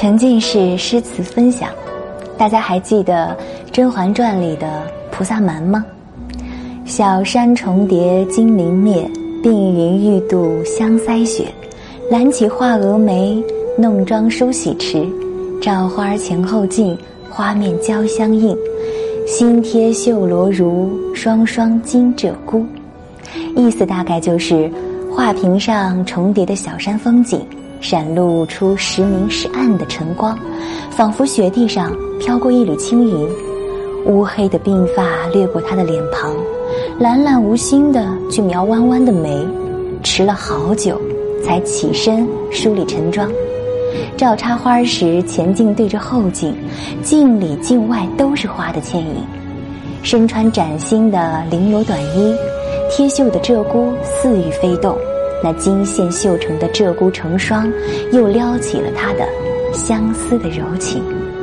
沉浸式诗词分享。大家还记得《甄嬛传》里的菩萨蛮吗？小山重叠金陵灭，碧云玉度香腮雪。揽起画蛾眉，弄妆梳洗迟。照花前后镜，花面交相映。新贴绣罗襦，双双金鹧鸪。意思大概就是画屏上重叠的小山风景，闪露出时明时暗的晨光，仿佛雪地上飘过一缕轻云。乌黑的鬓发掠过他的脸庞，懒懒无心地去描弯弯的眉，迟了好久才起身梳理晨妆。照插花时，前镜对着后镜，镜里镜外都是花的倩影。身穿崭新的绫罗短衣，贴绣的鹧鸪似欲飞动，那金线绣成的鹧鸪成双，又撩起了他的相思的柔情。